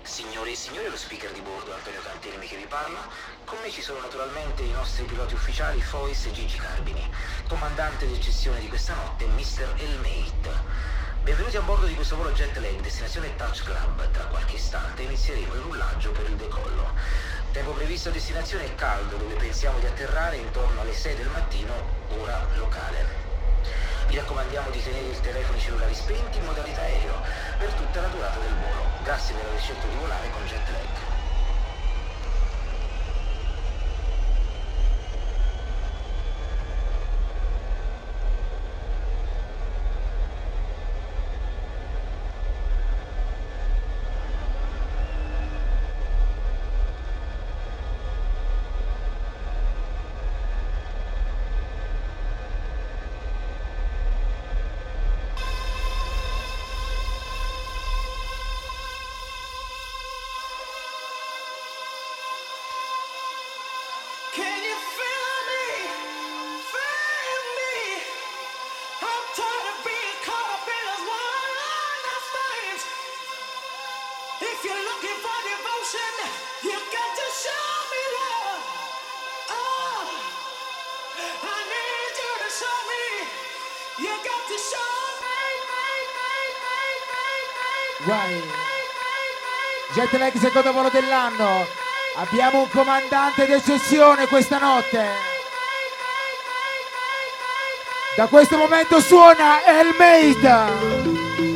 Signore e signori, lo speaker di bordo Antonio Cantelmi che vi parla. Con me ci sono naturalmente i nostri piloti ufficiali Fois e Gigi Carbini, comandante di eccezione di questa notte, Mr. Elmate. Benvenuti a bordo di questo volo jet lag, destinazione Touch Club. Tra qualche istante inizieremo il rullaggio per il decollo. Tempo previsto a destinazione è caldo, dove pensiamo di atterrare intorno alle 6 del mattino, ora locale. Vi raccomandiamo di tenere i telefoni cellulari spenti in modalità aereo per tutta la durata del volo. Grazie per aver scelto di volare con jet lag. Jet lag secondo volo dell'anno. Abbiamo un comandante d'eccezione questa notte. Da questo momento suona Elmate.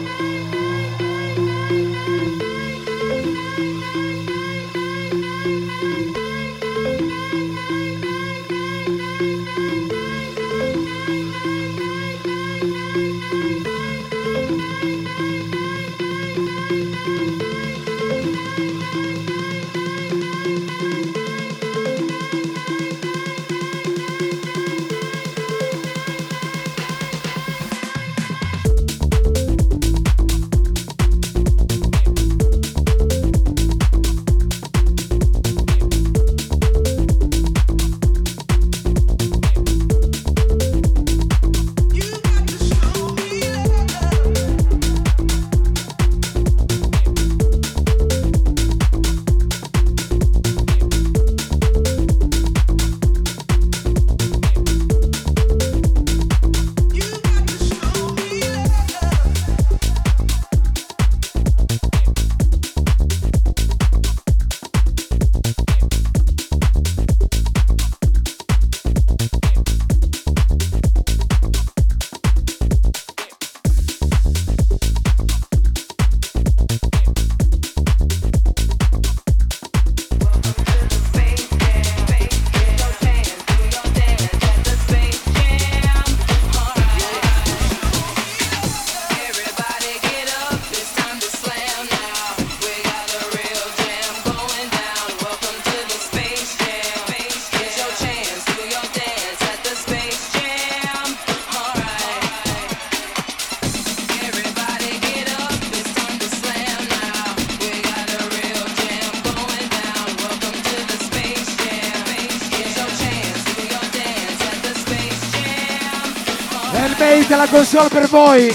Elmate la console per voi.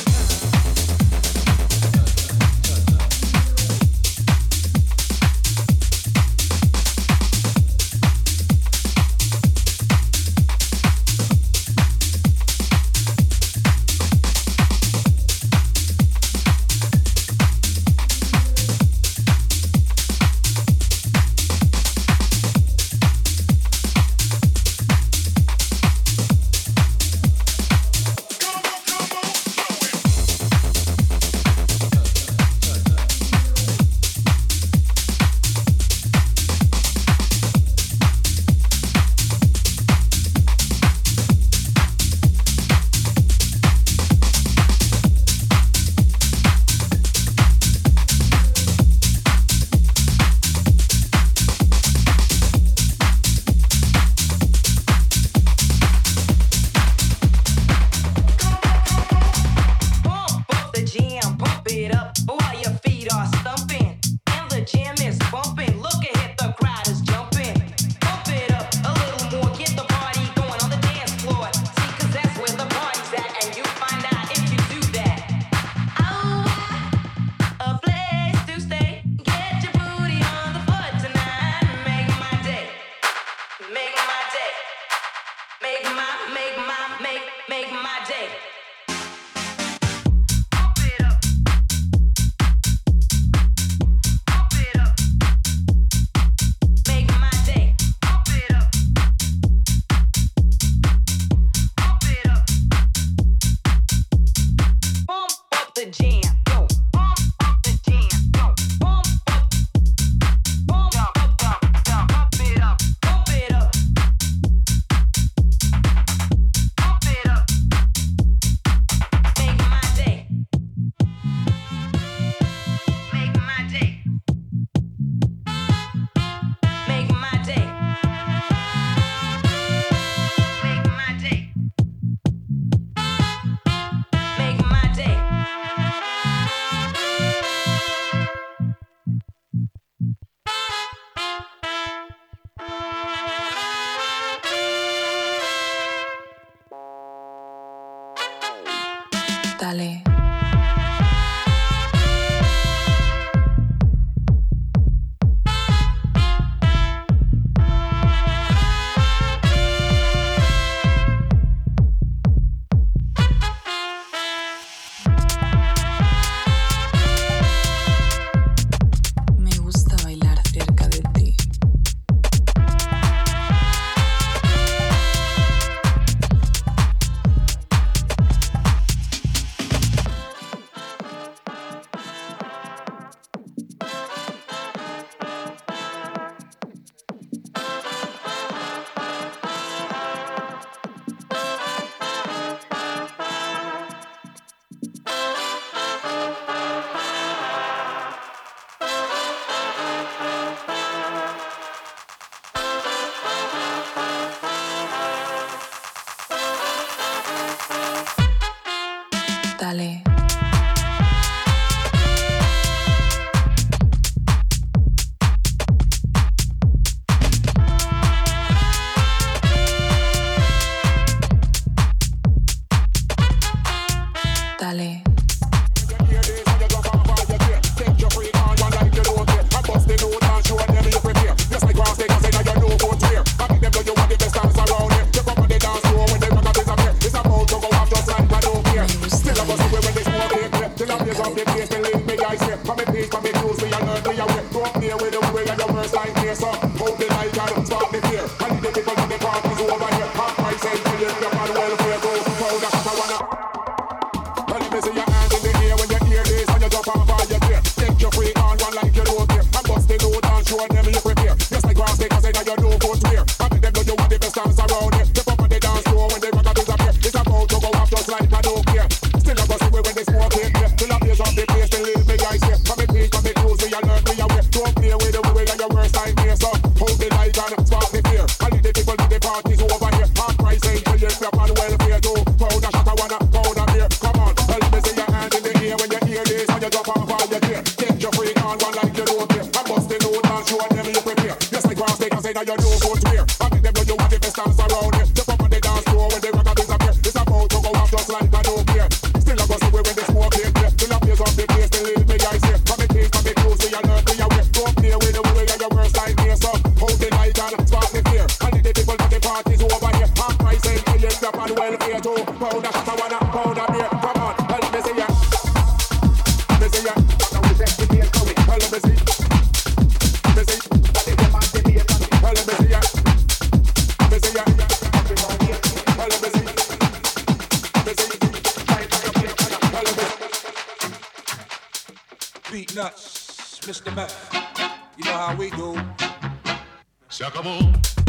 with the way and your worst line here. So hold the light and spark the fear. And the people in the parties over here. Half price and tell you the man welfare go. Pound a shot I wanna. Well, let me see your hands in the air when you hear this and you jump off all your gear. Take your free on one like you don't care. And bust the load and show them you prepare. Just like grass takers say that you know go clear. And make them know you want the best dance around here. Step up on the dance floor when they rock up disappear. It's about to go off just like I don't care. Still I go see when they smoke it here. Till I blaze up the place, they leave me guys here. From me peace, from me cruise, we alert me away. Don't play with the way and your worst time here. So hold the light and spark the fear. And the people in the parties over here. Half price ain't till you flip on welfare too. Pound a shot I wanna, pound a beer. Come on, well, let me see your hand in the air when you hear this and you drop off all your gear. Take your freak on one like you don't care. And bust the load and show them you prepare. Just like grass takers say that you know go clear. And make them know you want the best dance around here. Step up on the dance floor when they rock up disappear. It's about to go off just like I don't care. Still I go see when they smoke it here. Till I blaze up the place, they leave me guys here. From me peace, from me cruise, we alert me away. Don't play with the way and your worst time here. So hold the light and spark the fear. And the people at the parties over here. Half price ain't till you flip on welfare too. Pound a shot I wanna, pound a beer. Come on, well, let me see ya. Let me see ya. Well, let me see. Let me see. Well, let me see ya. Well, let me see. Beat nuts, Mr. Meth. You know how we do. Se acabó.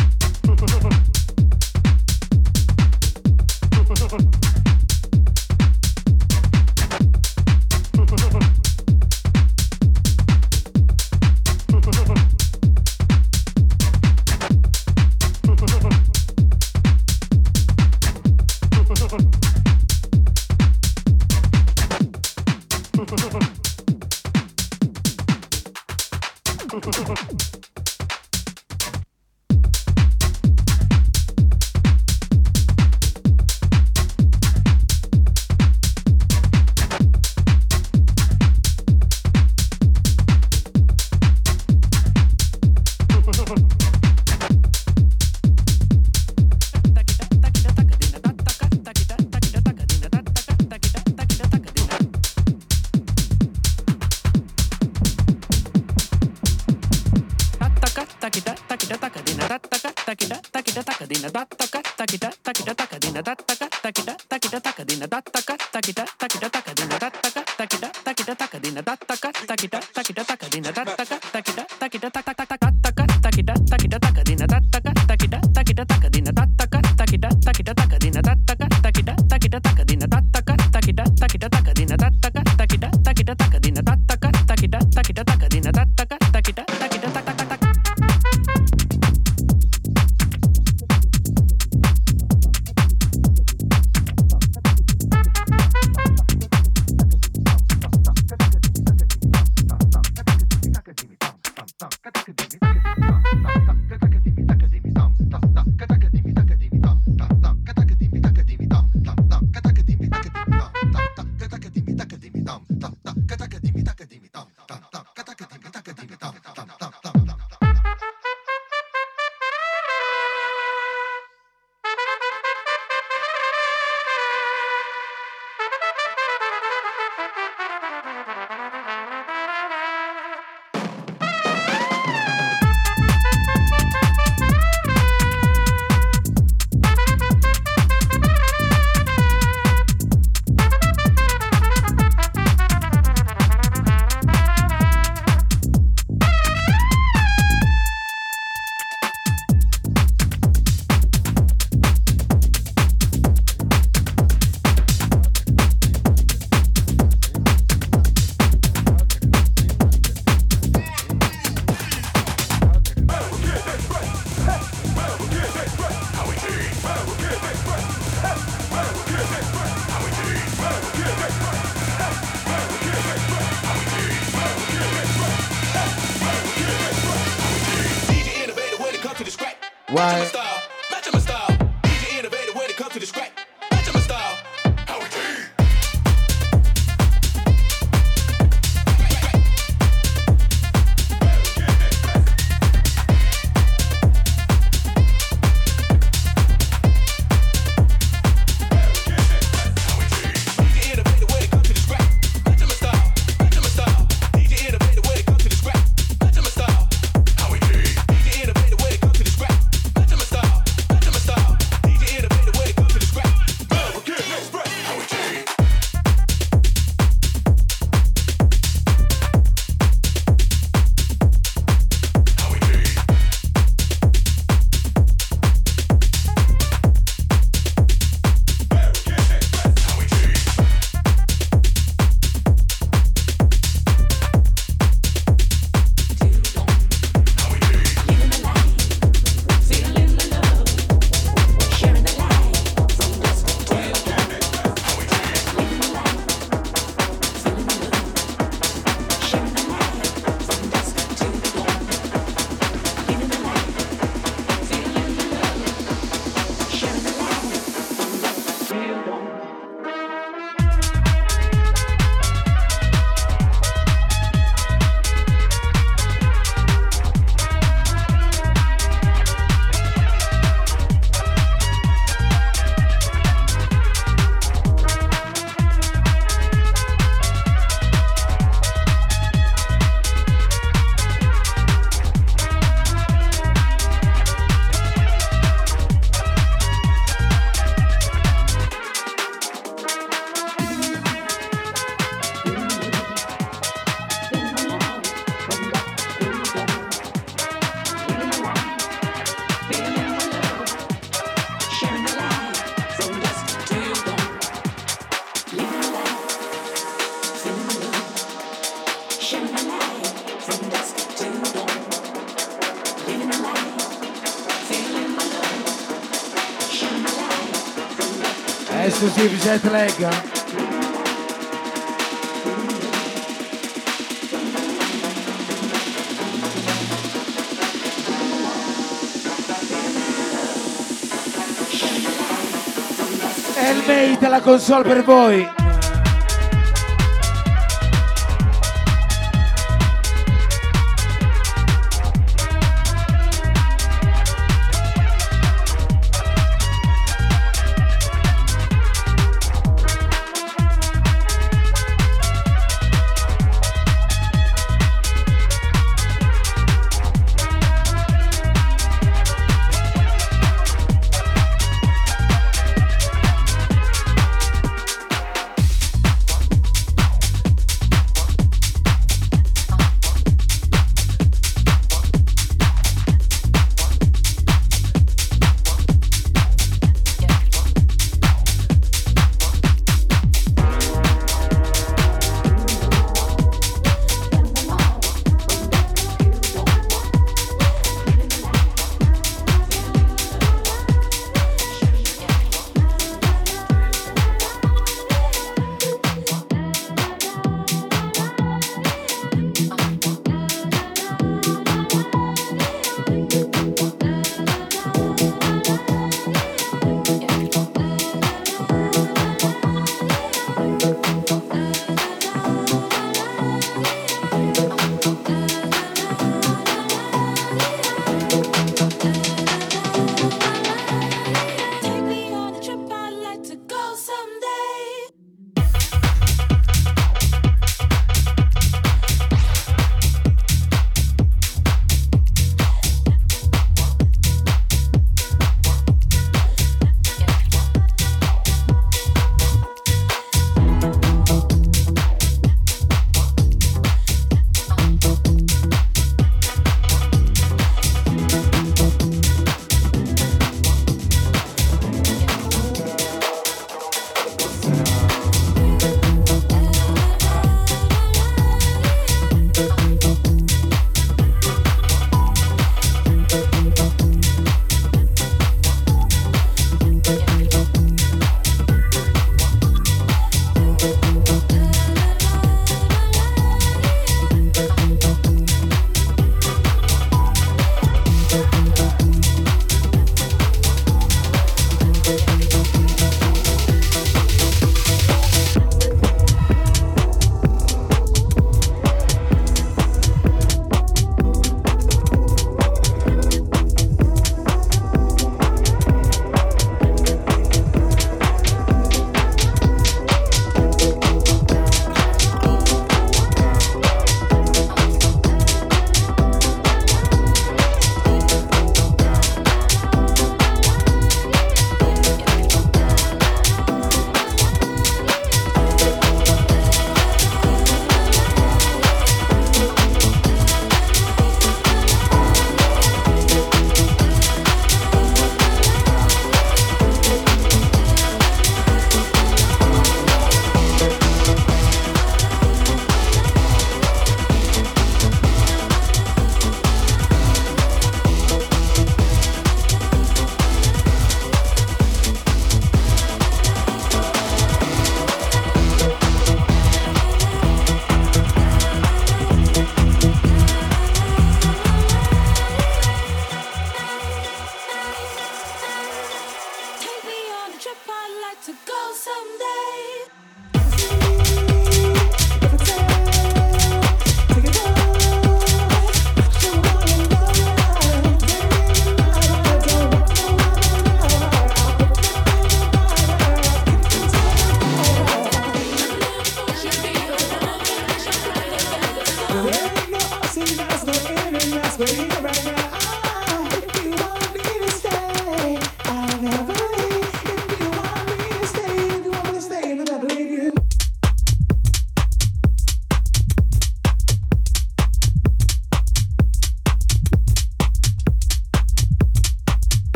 Why? Match my style. DJ innovative when it comes to the scrap. Match my style. How it DJ innovative when it comes to the scrap. Match my style. Exclusive jet lag. Elmate la console per voi.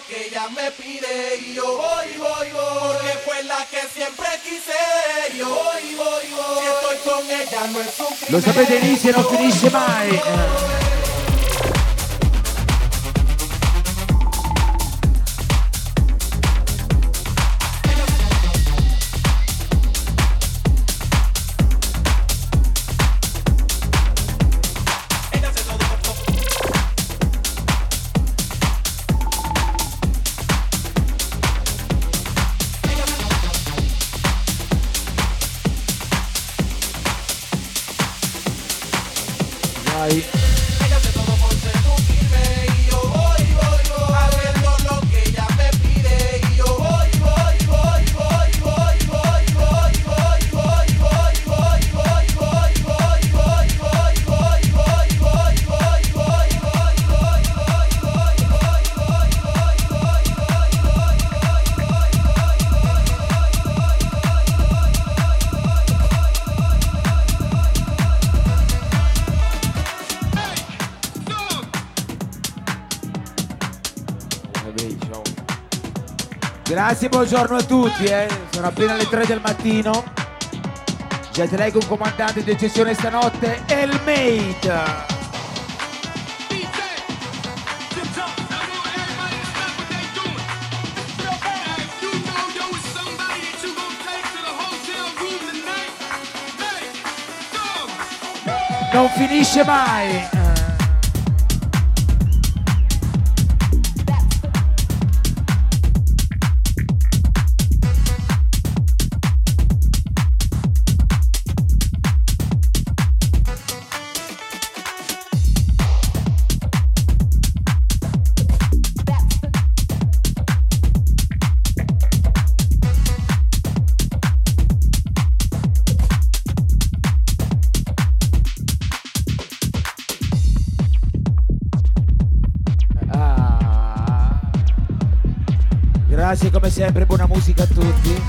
lo que ella me pide y yo voy, porque fue la que siempre quise. Yo voy, si estoy con ella no es un crimen. Lo sapete, inizia e non finisce mai. Vai. Grazie, buongiorno a tutti, sono appena le 3 del mattino. Jet lag, un comandante di eccezione stanotte, El Mate. Non finisce mai. Grazie come sempre, buona musica a tutti.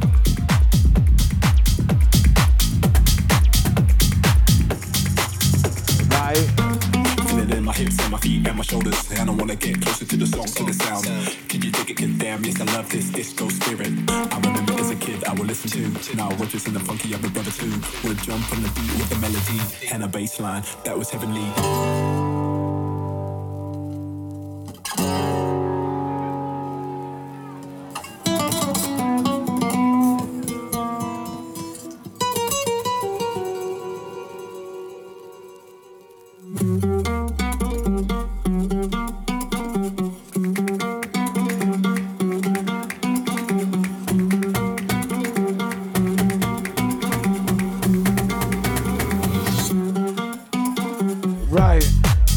Vai. Feel it in my hips and my feet and my shoulders. I don't wanna get closer to the song, to the sound. Can you take it? 'Cause damn, yes, I love this disco spirit. I remember as a kid, I would listen to. Now we're just in the funky of a brother too. We'll jump on the beat with the melody and a bass line that was heavenly. Right.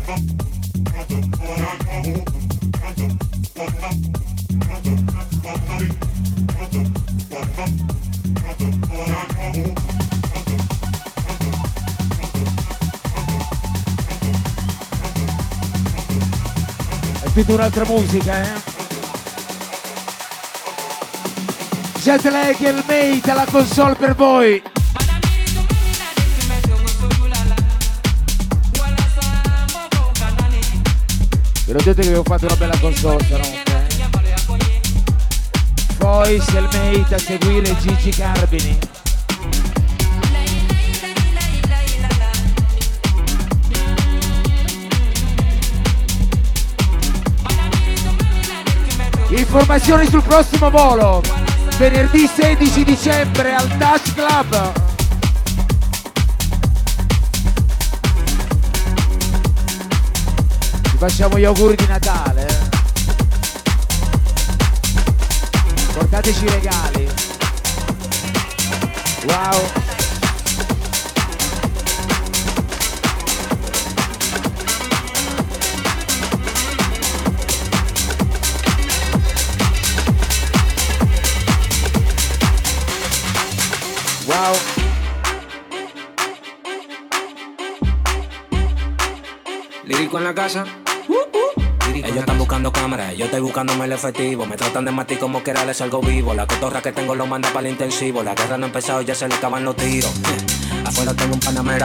È tutta un'altra musica, eh? Jetlag e il mate alla console per voi. Ve l'ho detto che avevo fatto una bella console stanotte. Voice e il mate a seguire Gigi Carbini. Informazioni sul prossimo volo, venerdì 16 dicembre al Touch Club. Ci facciamo gli auguri di Natale. Portateci i regali. Wow. Wow. Lírico en la casa. Ellos están buscando cámaras, yo estoy buscándome el efectivo. Me tratan de matar como quiera, les salgo vivo. La cotorra que tengo lo manda para el intensivo. La guerra no ha empezado, ya se le acaban los tiros. Afuera tengo un panamera.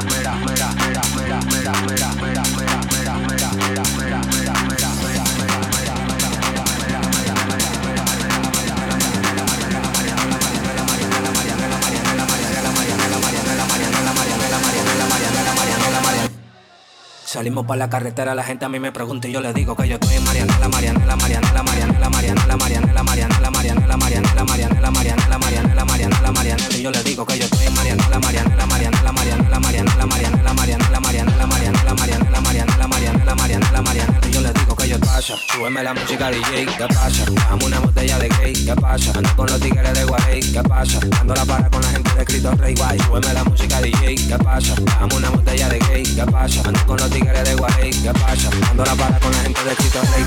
Salimos para la carretera, la gente a mí me pregunta y yo le digo que yo estoy en Marianela, Marianela, Marianela, Marianela, Marianela, Marianela, Marianela, Marianela, Marianela, Marianela, Marianela, Marianela, Marianela, Marianela, y yo le digo que yo estoy en Marianela, Marianela, Marianela, Marianela, Marianela, Marianela, Marianela, Marianela, Marianela, Marianela, Marianela, Marianela, Marianela, Marianela, y yo le digo que yo pasa, súbeme la música DJ, ¿qué pasa? Dame una botella de gay, ¿qué pasa? Ando con los tigres de Guarey, ¿qué pasa? Ando la para con la gente de Cristo Rey, guay, súbeme la música DJ, ¿qué pasa? Dame una botella de gay, ¿qué pasa? Ando con los tigres de Guarey, ¿qué pasa? Ando la para con la gente de Cristo Rey.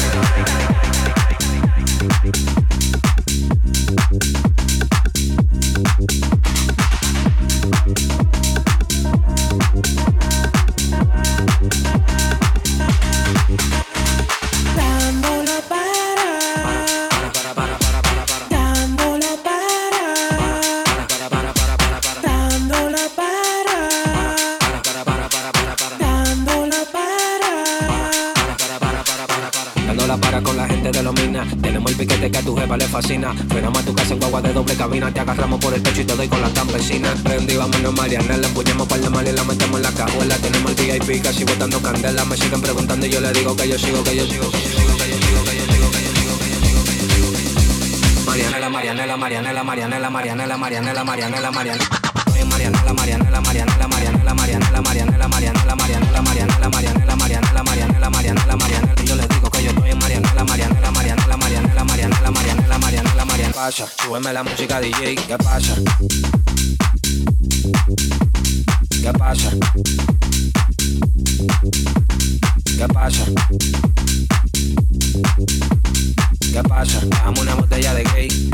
Tenemos el piquete que a tu jefa le fascina. Frenamos a tu casa en guagua de doble cabina. Te agarramos por el pecho y te doy con la campesina. Prendí, vámonos Marianela. Empuñamos par de mal y la metemos en la cajuela. Tenemos el VIP casi botando candela. Me siguen preguntando y yo le digo que yo sigo, que yo sigo, que yo sigo, que yo sigo, que yo sigo, que yo sigo, que yo sigo, que yo sigo. Marianela, Marianela, Marianela, Marianela, Marianela, Marianela, Marianela, Marianela. Marianela, Marianela, Marianela, Marianela, Marianela, Marianela, Marianela, Marianela, Marianela, Marianela, Marianela, Marianela, Marianela, Marianela, y yo les digo que yo estoy en Marianela, Marianela, Marianela, Marianela, Marianela, Marianela, Marianela, Marianela. Pasa, súbeme la música DJ, ¿qué pasa? ¿Qué pasa? ¿Qué pasa? ¿Qué pasa? Dame una botella de gay.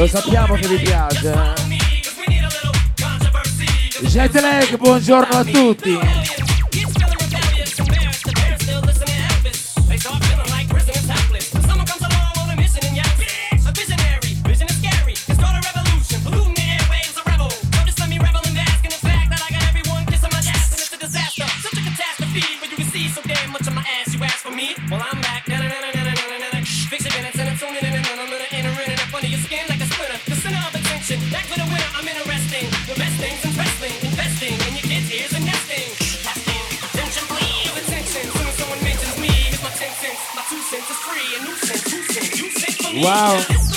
Lo sappiamo che vi piace. Jetlag, buongiorno a tutti. Wow.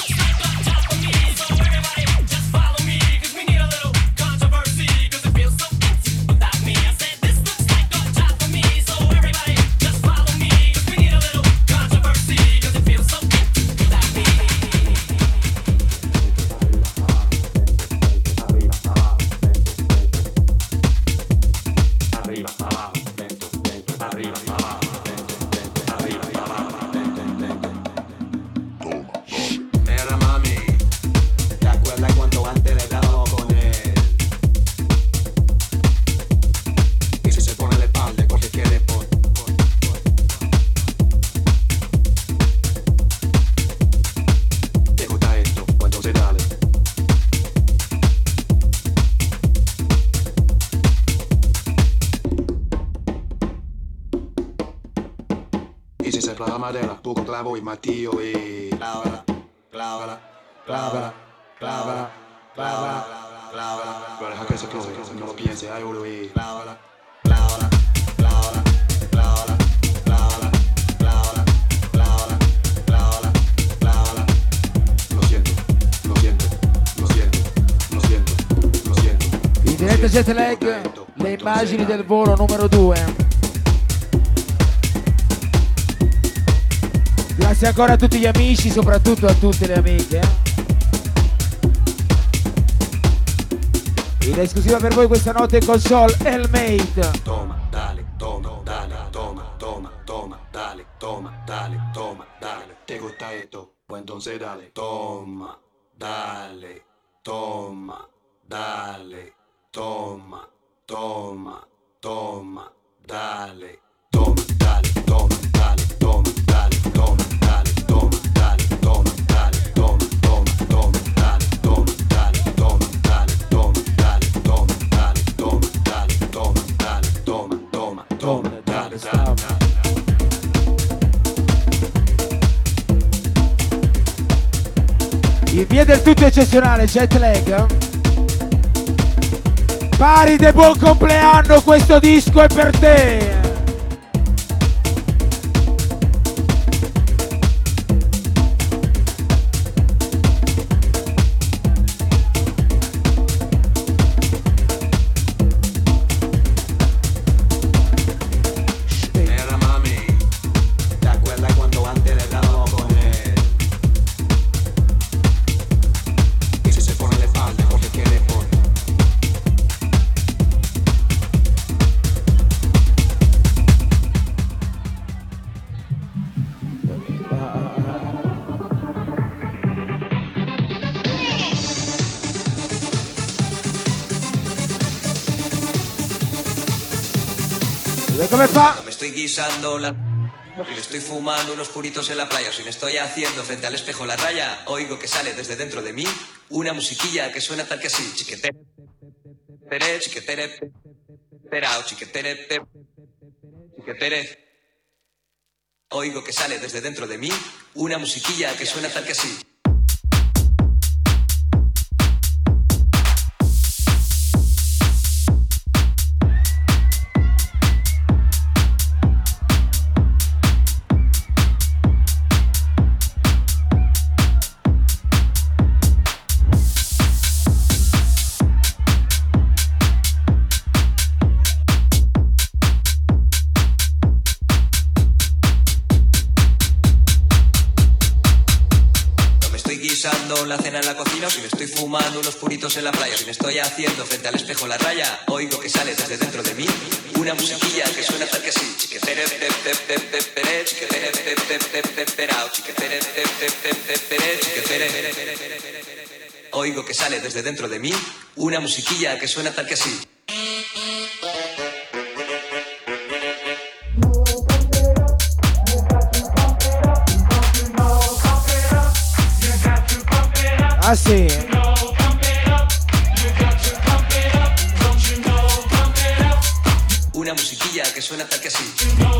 Tu con clavo y martillo y clávala, clávala, clávala, clávala, clávala, clávala. Pero deja que se close, no lo piense, ay boludo y clávala, clávala, clávala, clávala, clávala, clávala, clávala, clávala, clávala. Lo siento, lo siento, lo siento, lo siento, lo siento. In diretta Jetlag, le immagini del volo numero 2. Grazie ancora a tutti gli amici, soprattutto a tutte le amiche. In esclusiva per voi questa notte in console Elmate. Toma, dale, toma, dale, toma, toma, toma, dale, toma, dale, toma, dale. ¿Te gusta esto? Pues entonces dale, toma, dale, toma, dale, toma, toma, toma, dale, toma, dale, toma, dale, toma, dale, toma. In via del tutto eccezionale, Jetlag. Pari de buon compleanno, questo disco è per te. ¿Come fa? Me estoy guisando la... Y me estoy fumando unos puritos en la playa. Si me estoy haciendo frente al espejo la raya, oigo que sale desde dentro de mí una musiquilla que suena tal que así. Chiquetere, tere, chiquetere, perao, chiquetere, chiquetere. Oigo que sale desde dentro de mí una musiquilla que suena tal que así. La cena en la cocina, si me estoy fumando unos puritos en la playa, si me estoy haciendo frente al espejo la raya, oigo que sale desde dentro de mí una musiquilla que suena tal que así. Chiquetere, chiquetere, chiquetere, chiquetere. oigo que sale desde dentro de mí una musiquilla que suena tal que así. Ah sì? Una musiquilla que suena tal que así.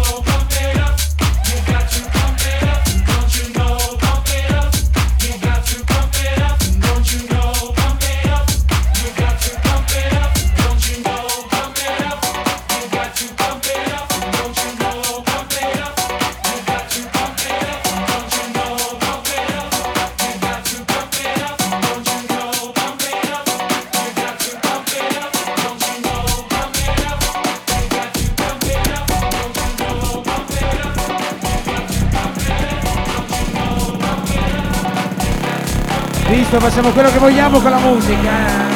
Visto, facciamo quello che vogliamo con la musica.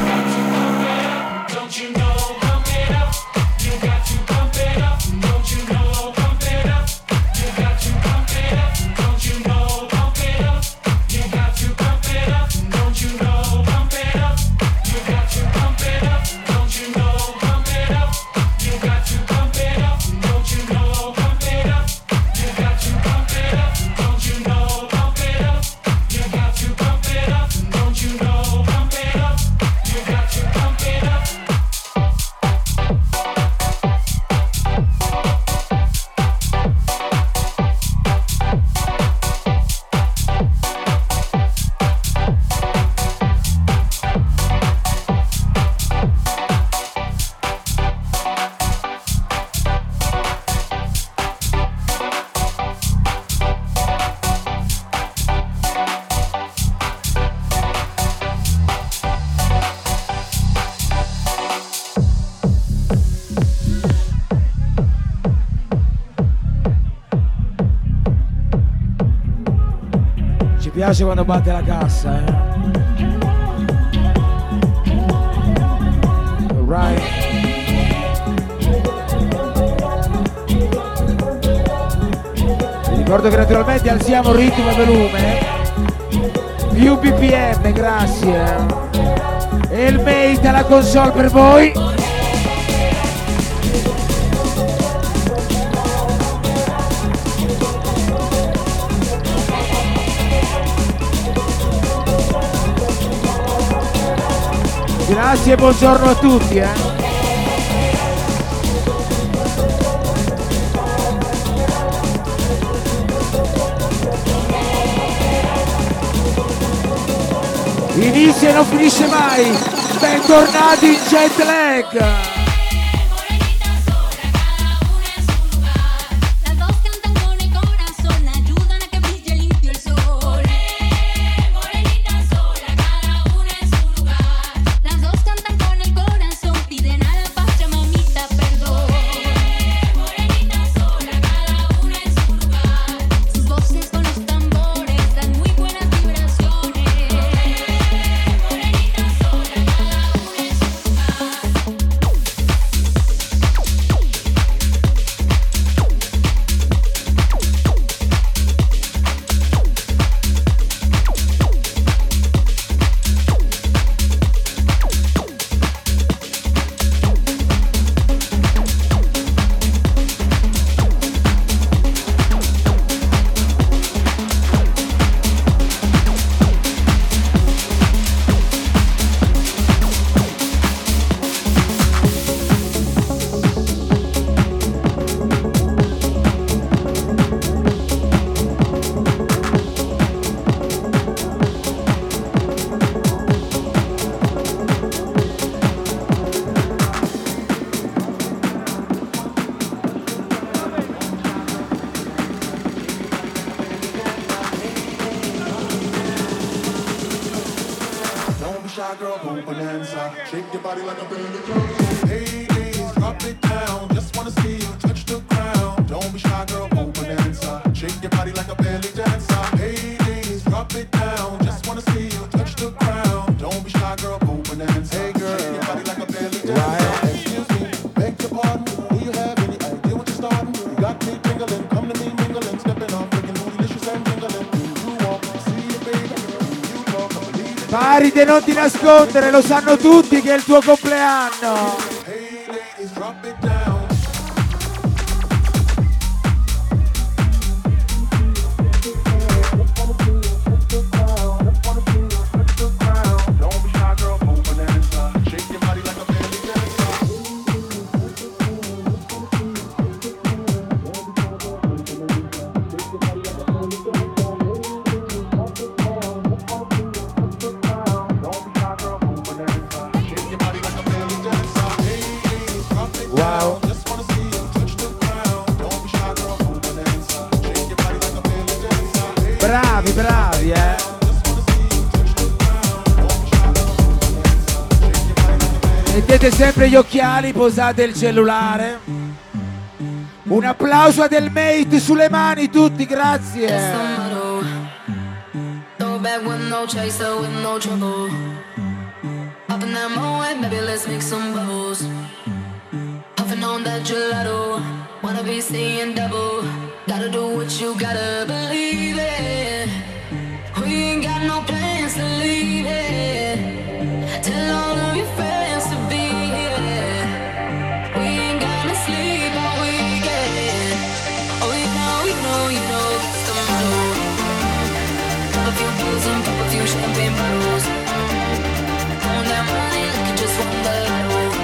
Mi piace quando batte la cassa, Alright. Vi ricordo che naturalmente alziamo ritmo e volume. Più BPM, grazie. E il mate alla console per voi. Grazie e buongiorno a tutti, Inizia e non finisce mai. Bentornati in Jet Lag. Paride, non ti nascondere, lo sanno tutti che è il tuo compleanno. Hey ladies, drop it down. Wow. Bravi, bravi, Mettete sempre gli occhiali, posate il cellulare. Un applauso a Del Mate sulle mani tutti, grazie. On that gelato, wanna be seeing double. Gotta do what you gotta believe it. We ain't got no plans to leave it. Tell all of your friends to be here. We ain't gonna sleep all weekend. Oh, you know that's the motto. Pop a few pills and pop a few champagne bottles. On that money like you just won the lotto.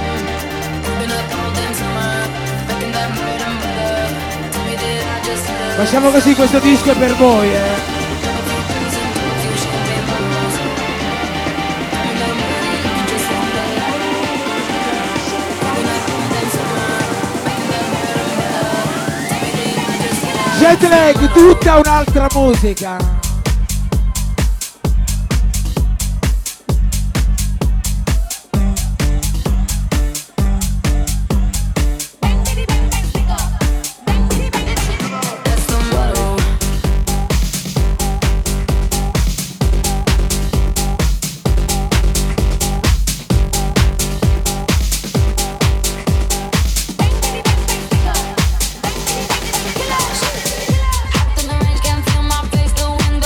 Facciamo così, questo disco è per voi, Jetlag, tutta un'altra musica. Can feel my face, the wind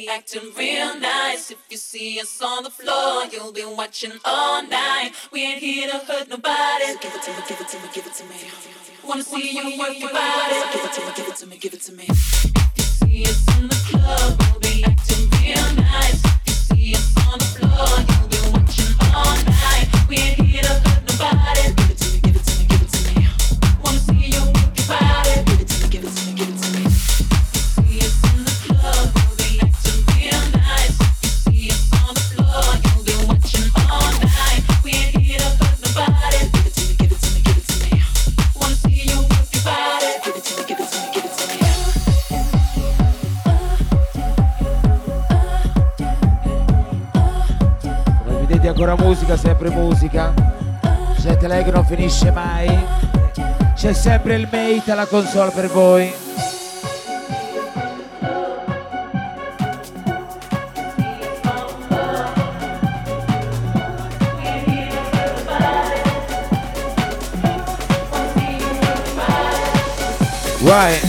acting real nice. If you see us on the floor, you'll be watching all night. We ain't here to hurt nobody. So give it to me, give it to me, give it to me. Wanna see you work your body. So give it to me, give it to me, give it to me. If you see us in the club, we'll be acting real nice. If you see us on the floor, you'll be watching all night. We ain't here to hurt nobody. So give it to me, give it to me, give it to me. Wanna see you work your body. Give it to me, give it to me, give it to me. If you see us in the club, we'll be acting real nice. If you see us on the floor, you'll be watching all night. We ain't here to hurt nobody. Give it to me, give it to me, give it to me. Wanna see you work your body. Give it to me, give it to me, give it to me. Come vedete ancora musica, sempre musica. Jet lag non finisce mai. C'è sempre il mate alla console per voi. Vai.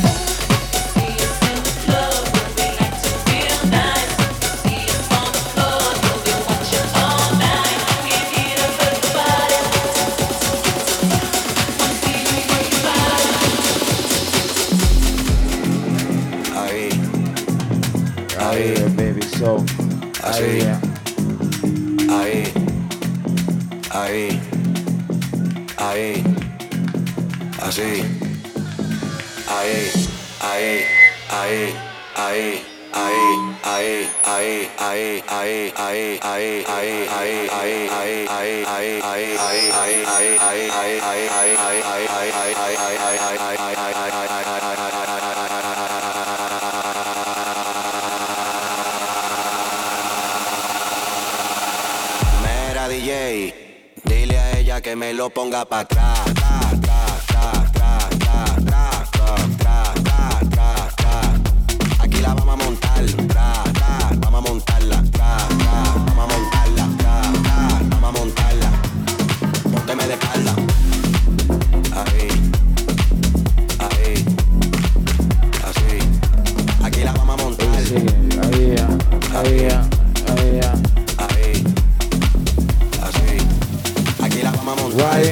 Ahí, baby, so. Así. Ahí. Ahí. Ahí. Así. Ahí. Ahí. Ahí. Ahí. Ahí, ahí, ahí, ahí, ahí, ahí, ahí, ahí, ahí, ahí, ahí, ahí, ahí, ahí, ahí, ahí, Mira, DJ, dile a ella que me lo ponga para atrás. Aquí la vamos a montar, vamos a montarla, vamos a montarla, vamos a montarla. Pónteme de espalda. Ahí, ahí, así. Aquí la vamos a montar. Ahí, ahí, ahí, ahí, así. Aquí la vamos a montar.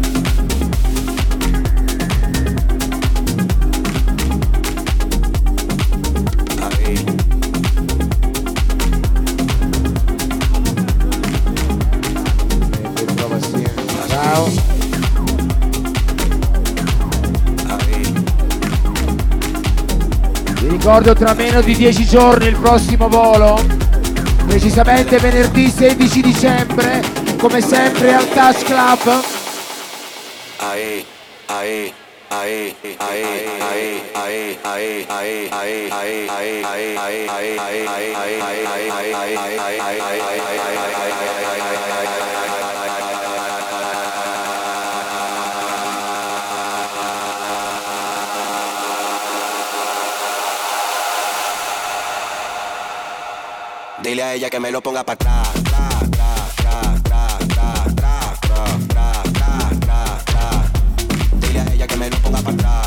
Vi ricordo tra meno di 10 giorni il prossimo volo, precisamente venerdì 16 dicembre, come sempre al Touch Club. Ahí, ahí, ahí, ahí, ahí, ahí, ahí, ahí, ahí, ahí, ahí, ahí, ahí, ahí, dile a ella que me lo ponga para atrás. Dile a ella que me lo ponga para atrás.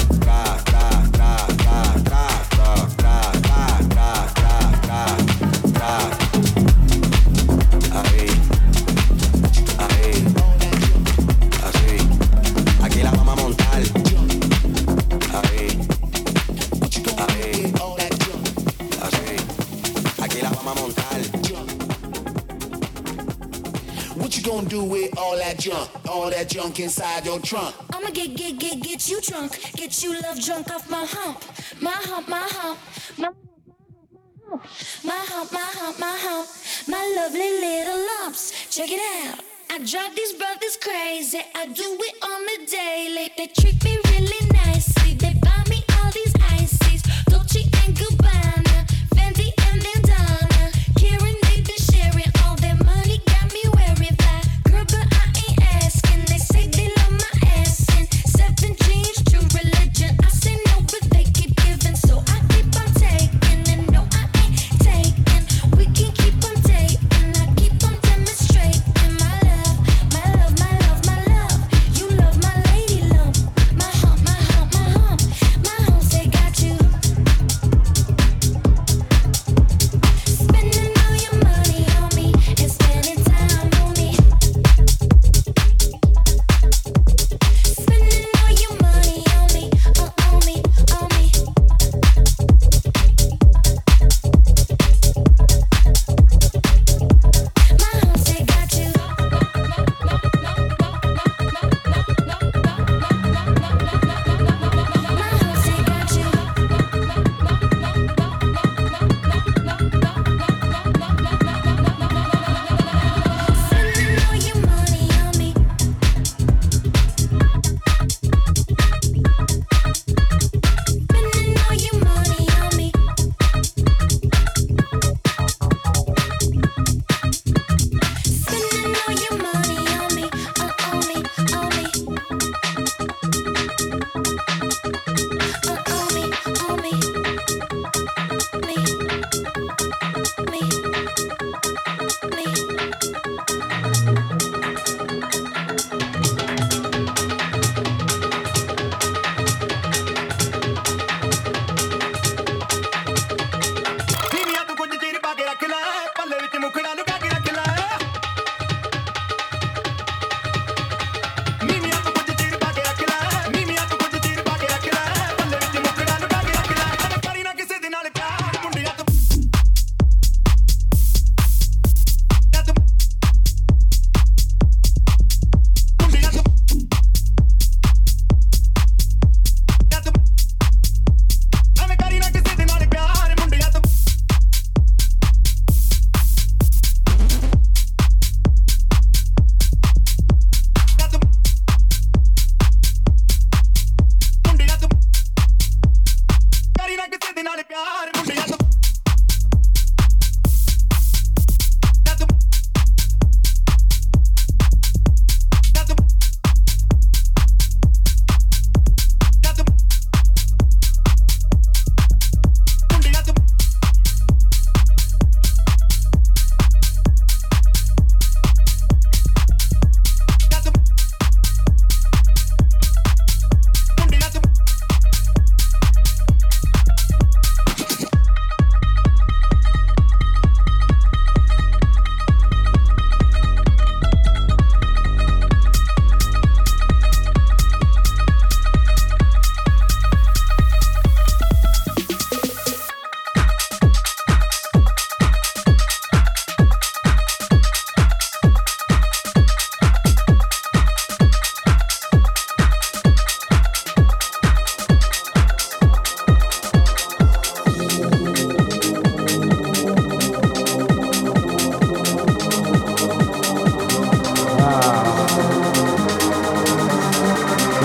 Ahí, ahí, así. Aquí la vamos a montar. Ahí, ahí, así. Aquí la vamos a montar. What you gonna do with all that junk inside your trunk? I'ma get you drunk, get you love drunk off my hump, my hump, my hump, my hump, my hump, my hump, my lovely little lumps. Check it out. I drive these brothers crazy. I do it on the daily. They treat me really nicely. They buy me all these ices, Dolce and Gabbana, Fendi and Bandana. Karen, they've been sharing all their money, got me wearing that. Girl, but I ain't asking. They say they love my ass and 7 jeans, true religion. I say no, but they keep giving, so I keep on taking. And no, I ain't taking. We can keep on dating. I keep on demonstrating my love, my love, my love, my love. You love my lady lump, my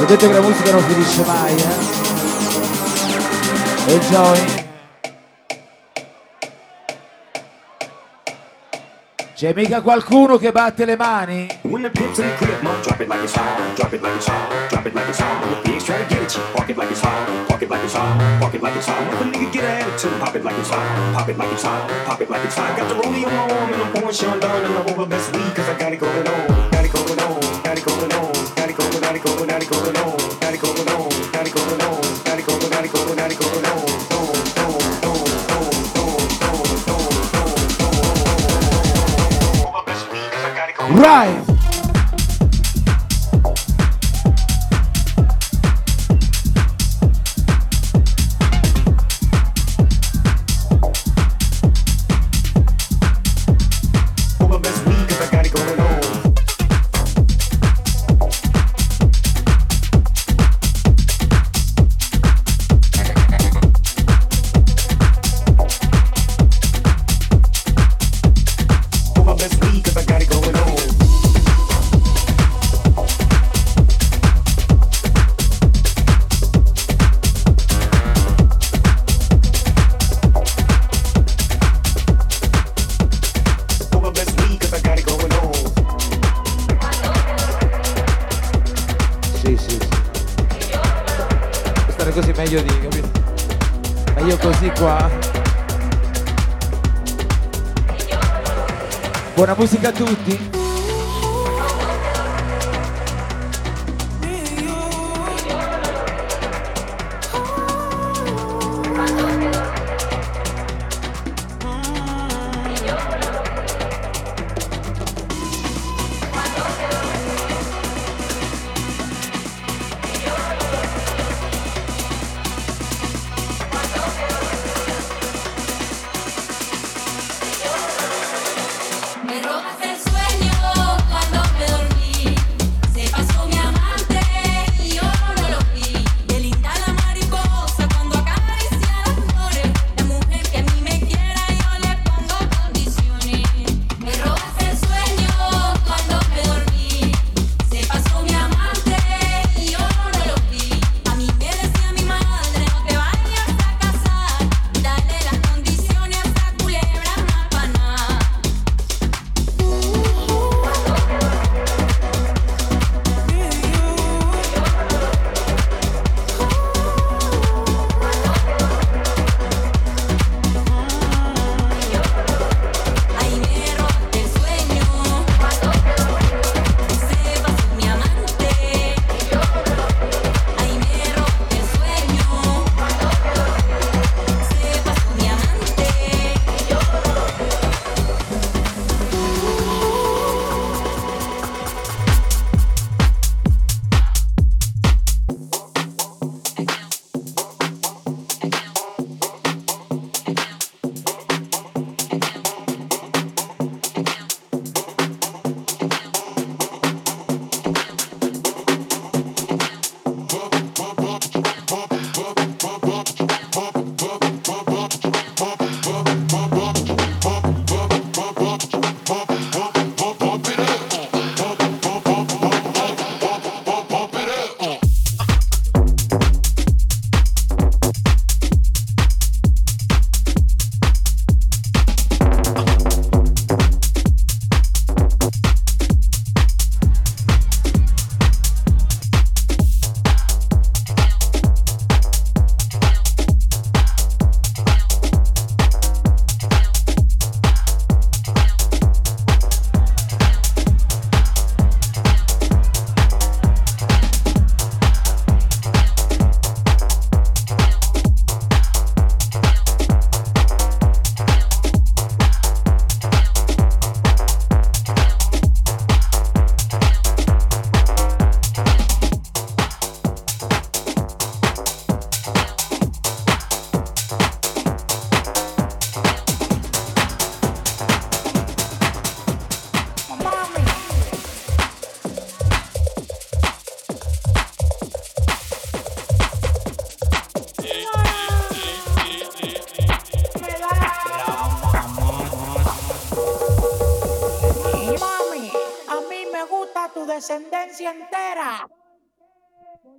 detto che la musica non finisce mai, Enjoy. C'è mica qualcuno che batte le mani? When the pimp's in the crib, mom, drop it like it's hot, drop it like it's hot, drop it like it's hot. When the pigs try to get at you, park it like it's hot, park it like it's hot, park it like it's hot. When the nigga get an attitude, pop it like it's hot, pop it like it's hot, pop it like it's hot. Got the rollie on my arm and I'm pouring Sean Don and I'm over best weed cause I got it going on, got it going on, got it going on, got it going on, got it going on, got it going on, got it going on, got it going on, got it going on, got it going on, got it going on. Right. Meglio di, capito? Meglio così qua. Buona musica a tutti. descendencia entera.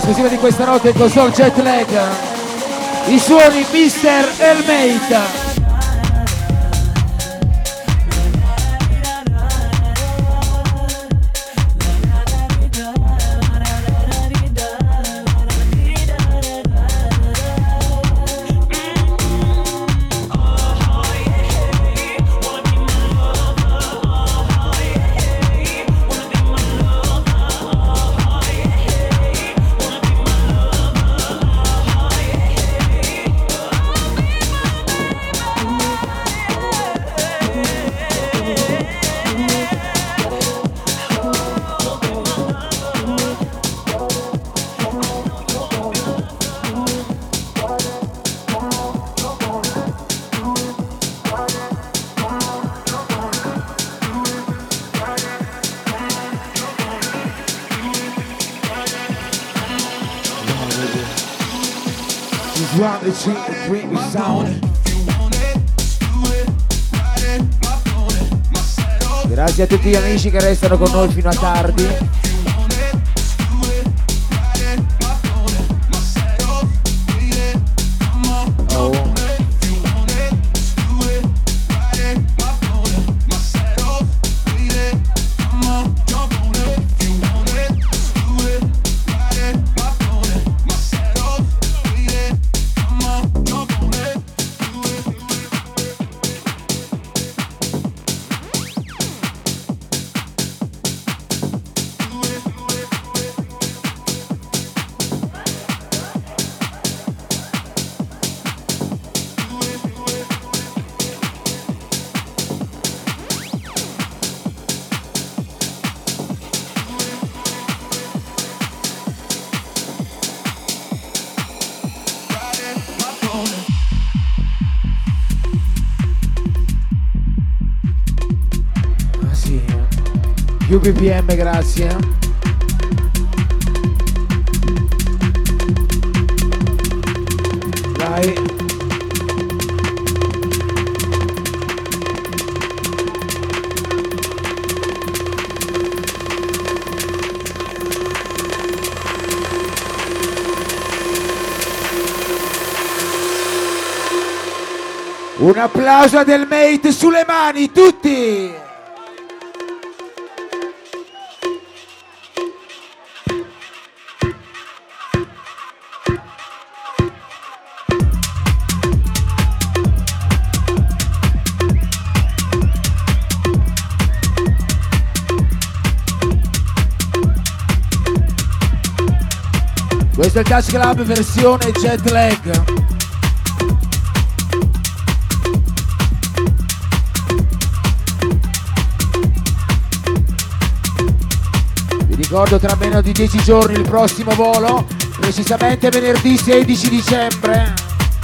esclusiva di questa notte in console Jet Lag, i suoni Mr. Elmate. Grazie a tutti gli amici che restano con noi fino a tardi. Oh. Più BPM, grazie. Dai. Un applauso a Elmate sulle mani, tutti! Questo è il Touch Club versione Jet Lag. Vi ricordo tra meno di 10 giorni il prossimo volo, precisamente venerdì 16 dicembre.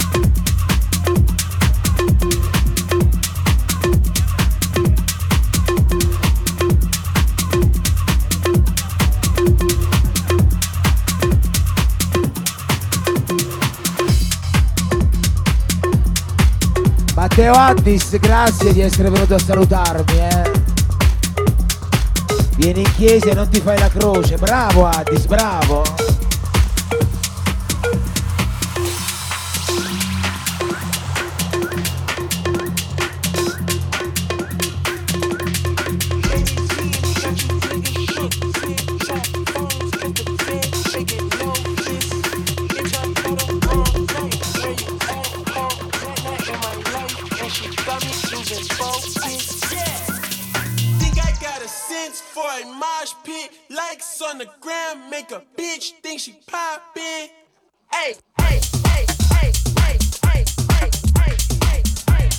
Matteo Addis, grazie di essere venuto a salutarmi, Vieni in chiesa e non ti fai la croce. Bravo Addis, bravo. On the ground, make a bitch think she poppin'. Hey, hey, hey, hey, hey, hey, hey, hey, hey, hey,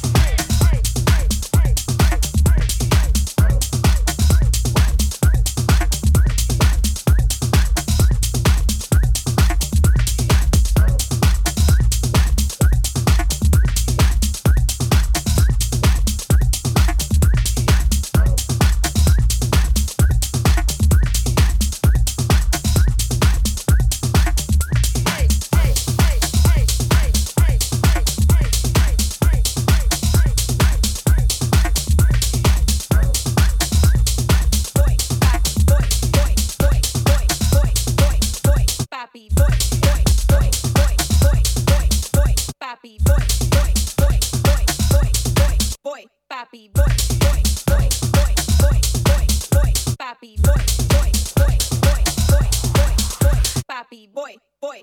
Papi boy, boy, boy, boy, boy, boy, boy, papi boy, boy, boy, boy, boy, boy, boy, papi boy, boy.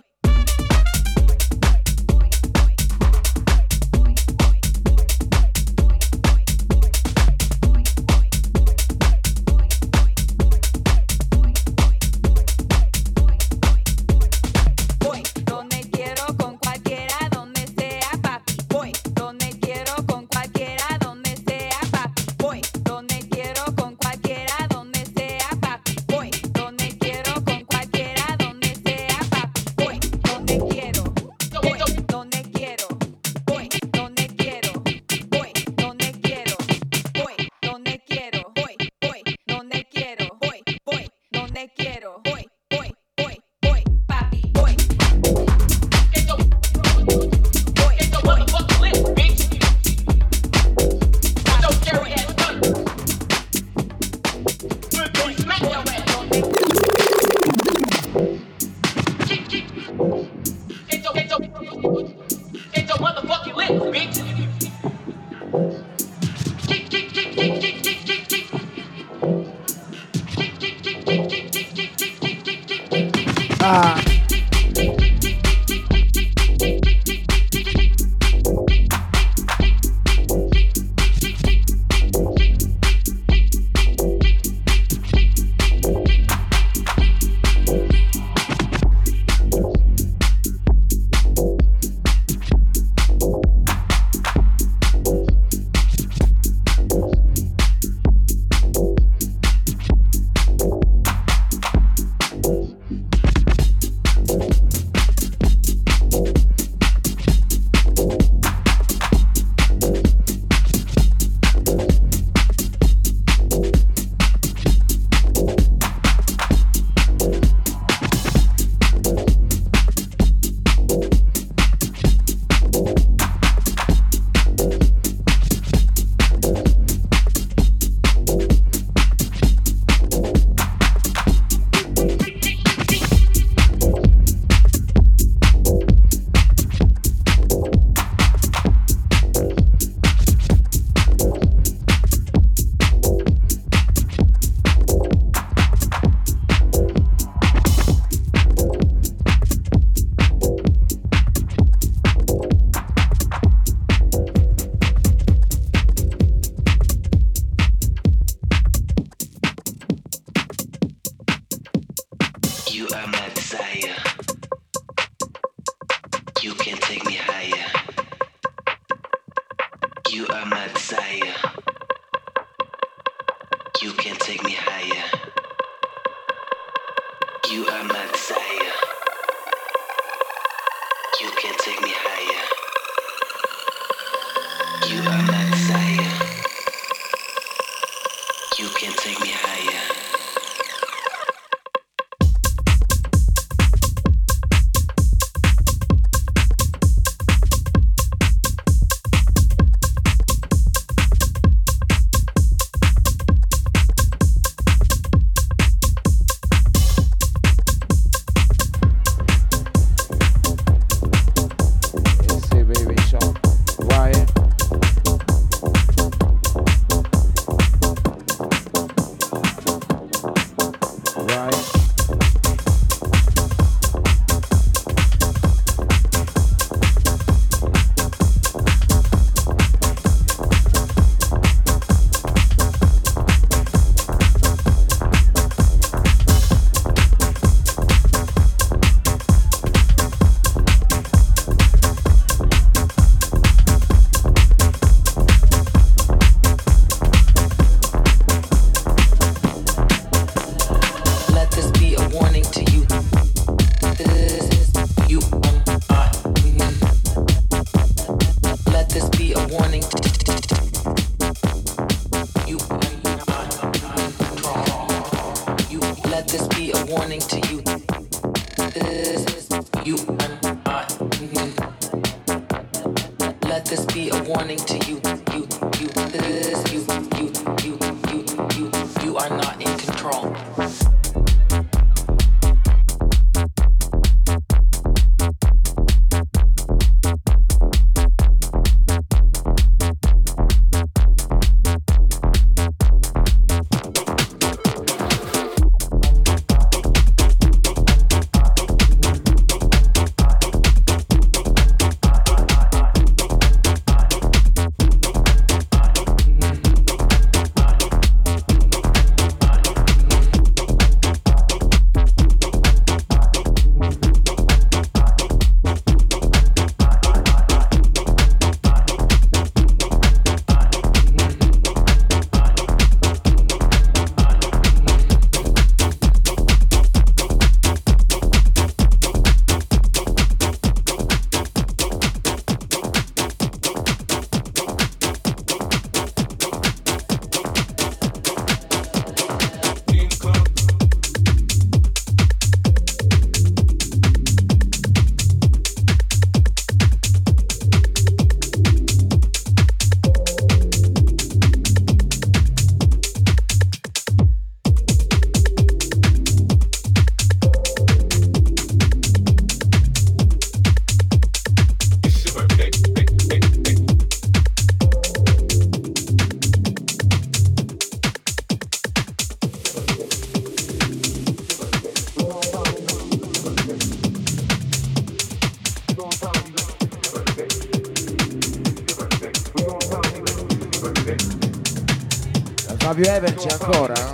Fabio Ever c'è ancora?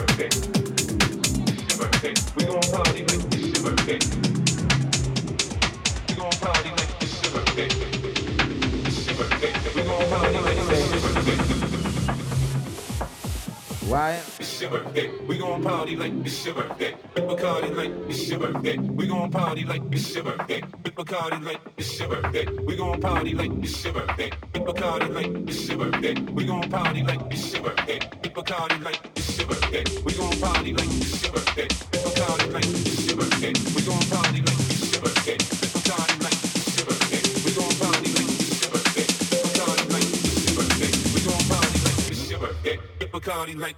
Why? It's your birthday. We gon' party like it's your birthday. With Bacardi like it's your birthday. We gon' party like it's your birthday. With Bacardi like it's your birthday. We gon' party like it's your birthday. With Bacardi like it's your birthday. We gon' party like it's your birthday. With Bacardi like it's your birthday. We gon' party like it's your birthday. With Bacardi like it's your birthday. We gon' party like it's your birthday. With Bacardi like it's your birthday. We gon' party like it's your birthday. With Bacardi like it's your birthday. We gon' party like it's your birthday. With Bacardi like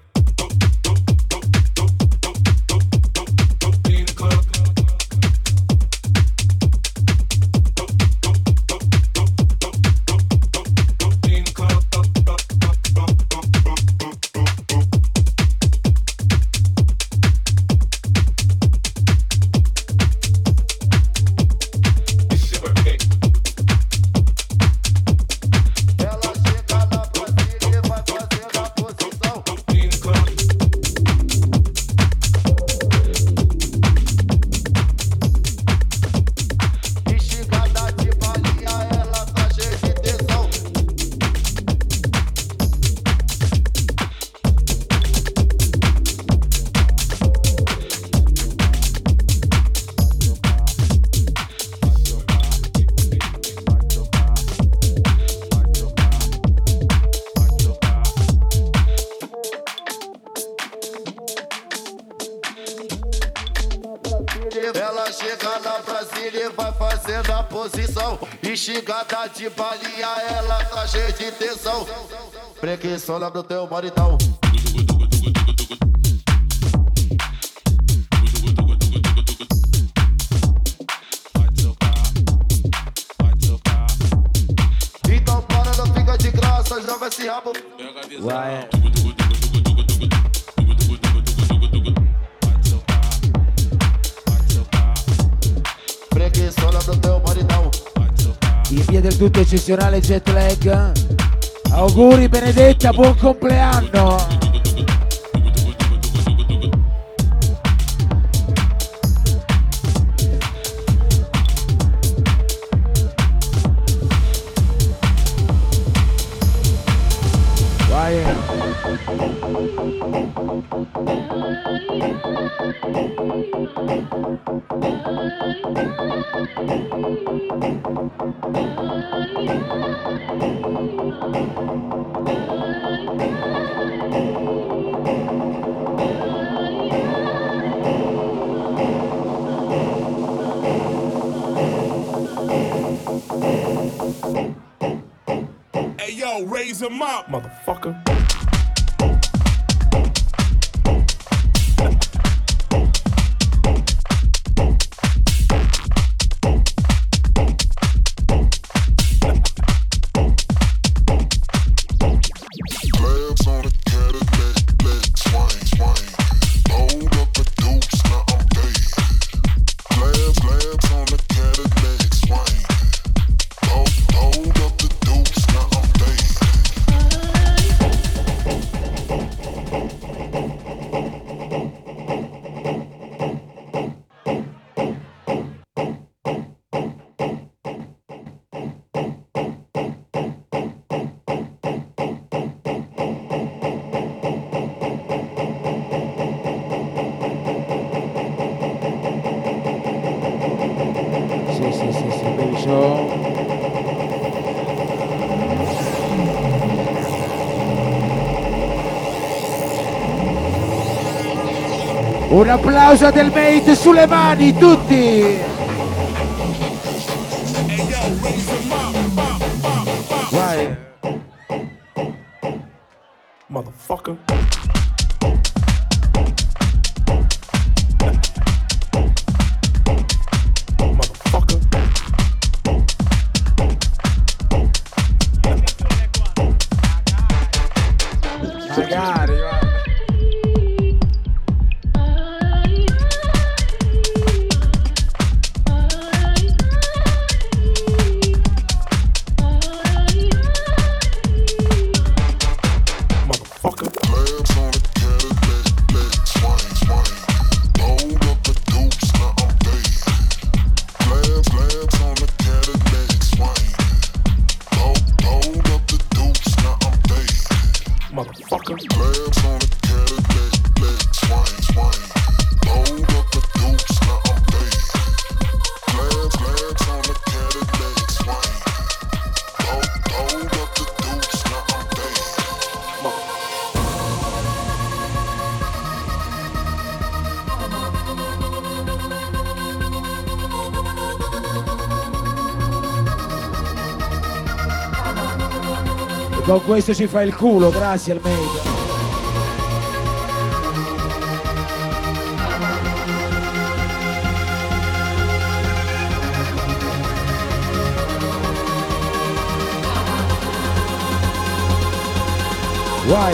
Xingada de balinha, ela tá cheia de tesão. Preguiçola do teu maridão. Então para, não fica de graça, joga esse rabo. Vai. Preguiçola do teu maridão. In via del tutto eccezionale jet lag. Auguri Benedetta, buon compleanno. Vai. Hey yo, raise him up, motherfucker. Un applauso a Del Mate sulle mani, tutti! Vai! Motherfucker. Magari, va. Con questo ci fa il culo, grazie al Made. Why?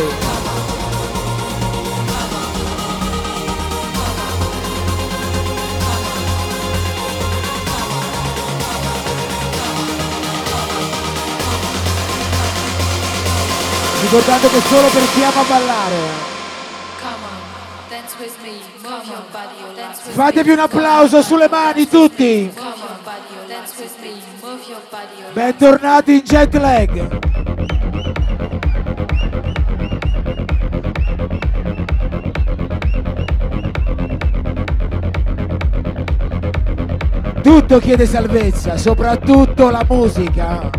Ricordate che solo per chi ama ballare. Fatevi un applauso sulle mani tutti. Bentornati in jet lag. Tutto chiede salvezza, soprattutto la musica.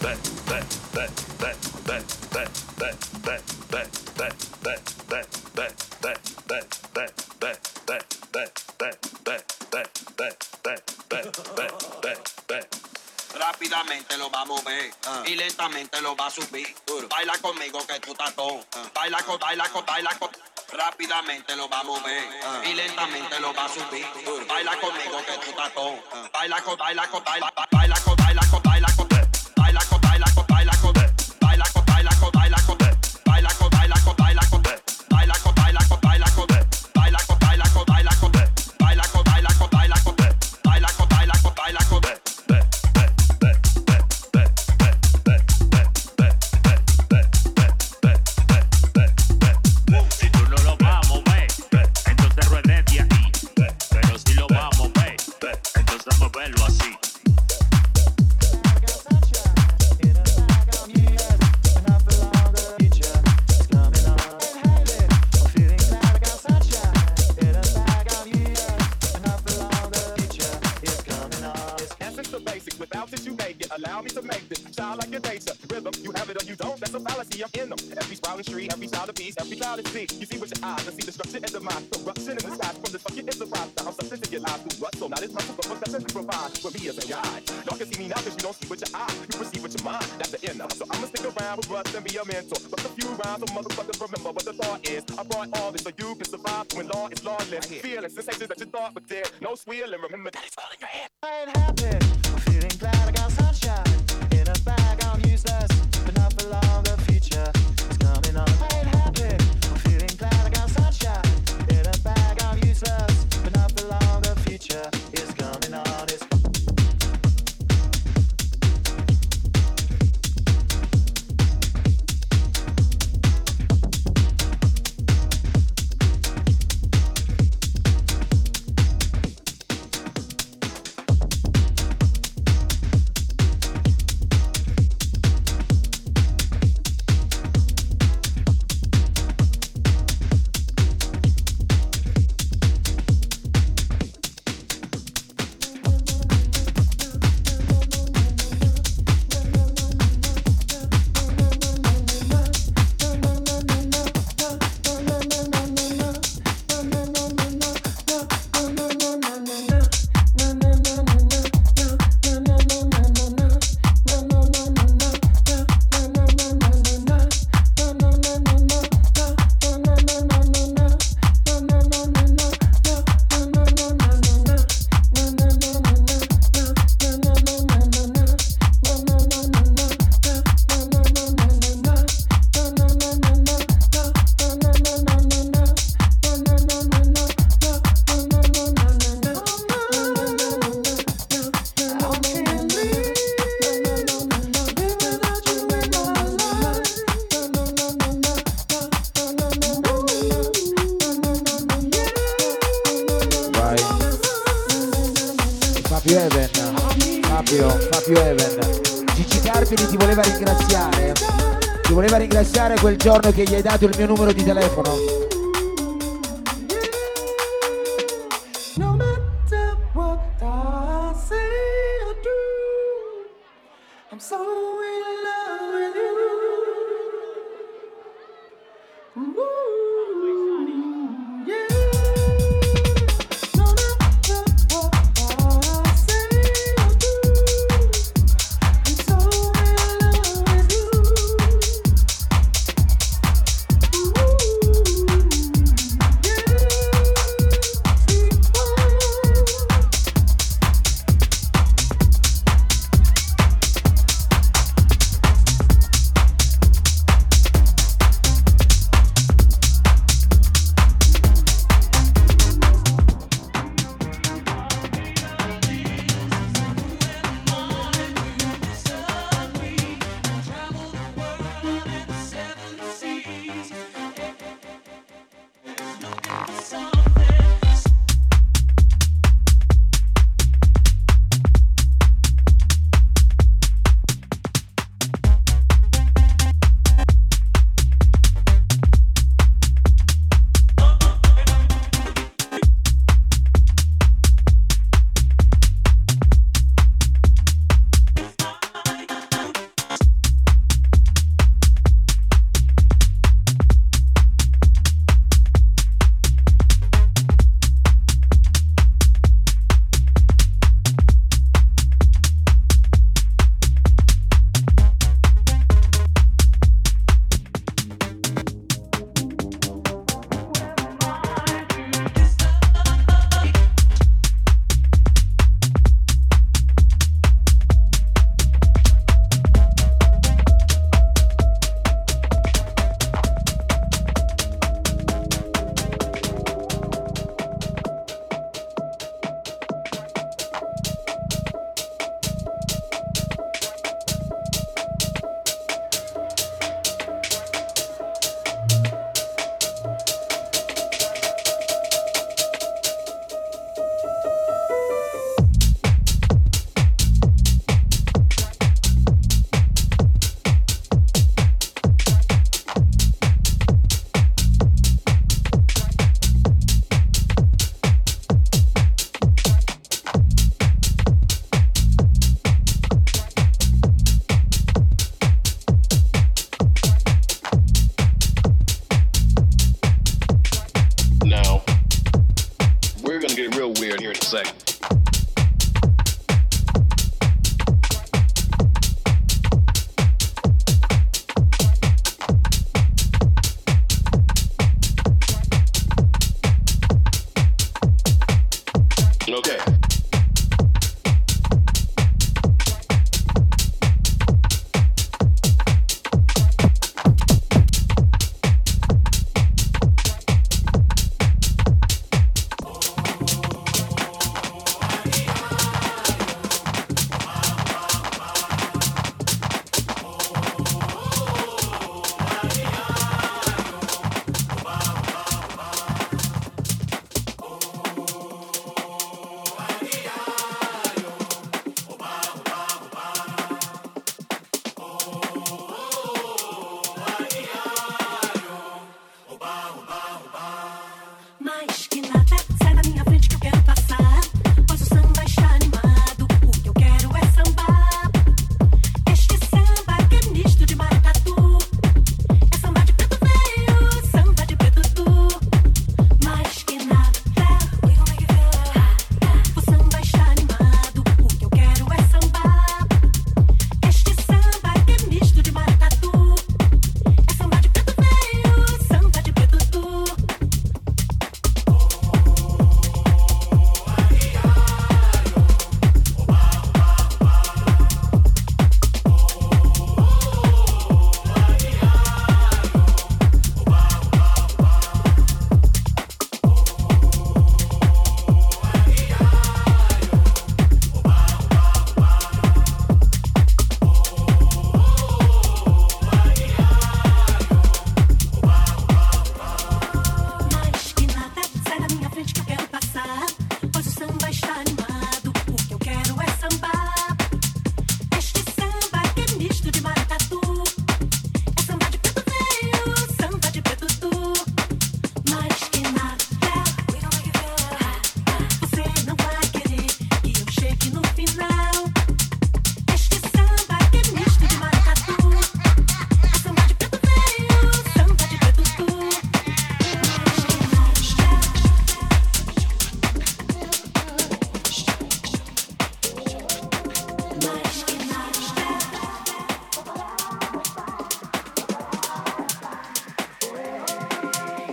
Rápidamente lo va a mover y lentamente lo va a subir. Baila conmigo que tú estás con. Baila con. Rápidamente lo va a mover y lentamente lo va a subir. Baila conmigo que tú estás con. Baila con. Fabio Even. Gigi Carpini ti voleva ringraziare quel giorno che gli hai dato il mio numero di telefono.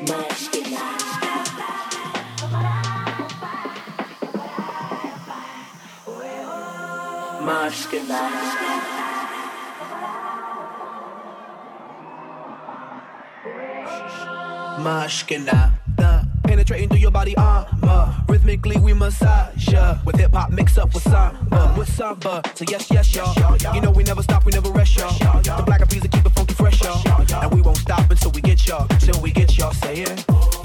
Mashkina, penetrating through your body armor. Rhythmically we massage ya with hip hop mixed up with samba. So yes, y'all. You know we never stop, we never rest, y'all. The Black Eyed Peas that keep it funky fresh, y'all. And we won't stop until we get y'all. Till we get y'all saying.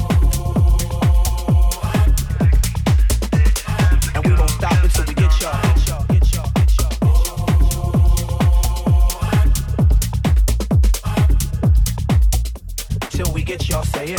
And we won't stop until we get y'all. Till we get y'all saying.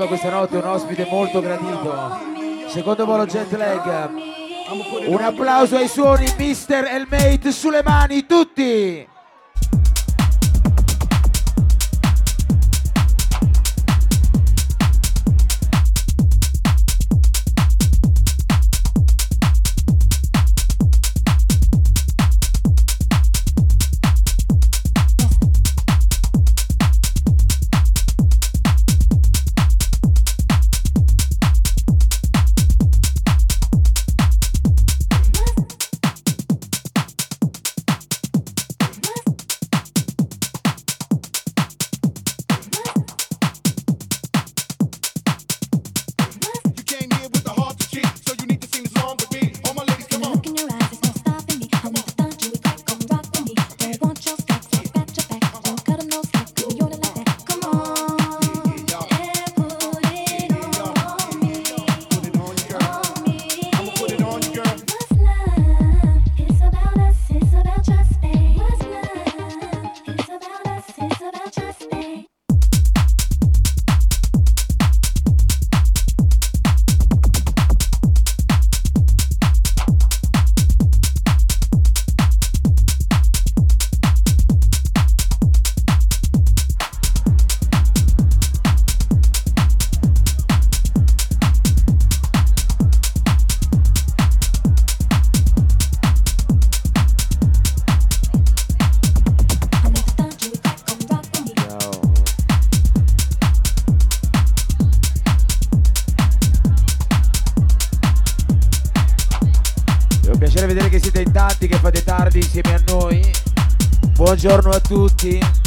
arriva questa notte un ospite molto gradito. Secondo volo jet lag. Un applauso ai suoni Mr. Elmate, sulle mani tutti! Vedere che siete in tanti, che fate tardi insieme a noi. Buongiorno a tutti.